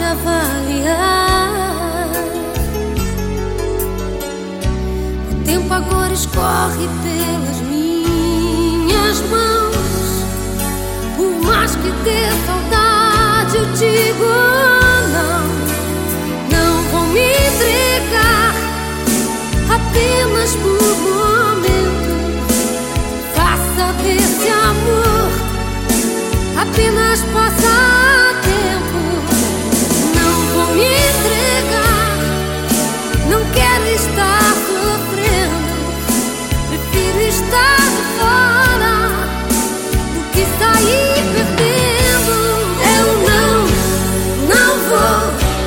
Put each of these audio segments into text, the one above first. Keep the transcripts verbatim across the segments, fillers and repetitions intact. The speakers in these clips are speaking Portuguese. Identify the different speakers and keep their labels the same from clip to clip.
Speaker 1: avaliar. O tempo agora escorre pelas minhas mãos. Por mais que dê saudade, eu digo não. Não vou me entregar apenas por momentos. Faça desse amor apenas passatempo. Não vou me entregar, não quero estar sofrendo. Prefiro estar de fora do que sair perdendo. Eu não, não vou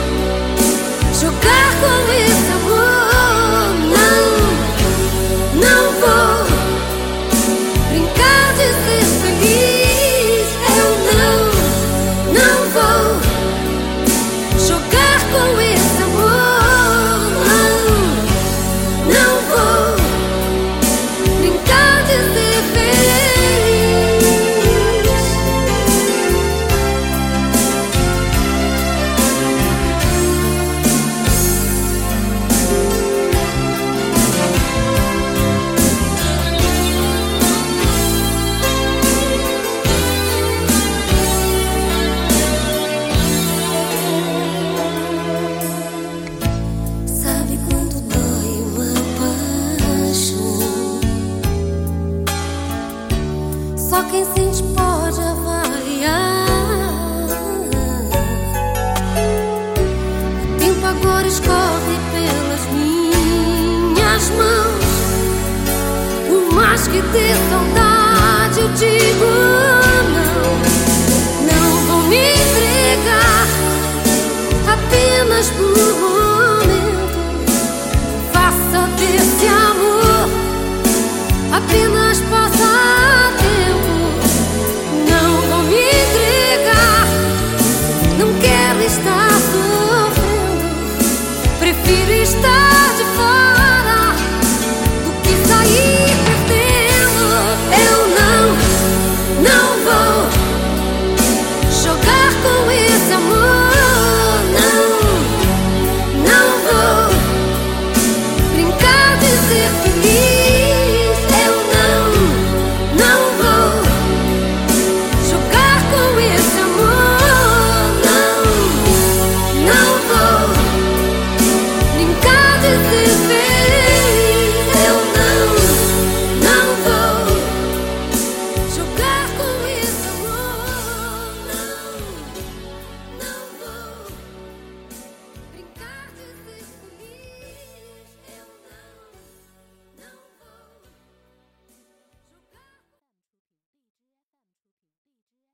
Speaker 1: jogar com esse amor. Não, não vou brincar de ser feliz. Eu não, não vou jogar com esse amor. Não, não vou brincar de ser feliz. Sabe quando dói uma paixão? Só quem sente pode avaliar. O tempo agora escorre pelas minhas mãos. Por mais que dê saudade, eu digo não. Não vou me entregar apenas por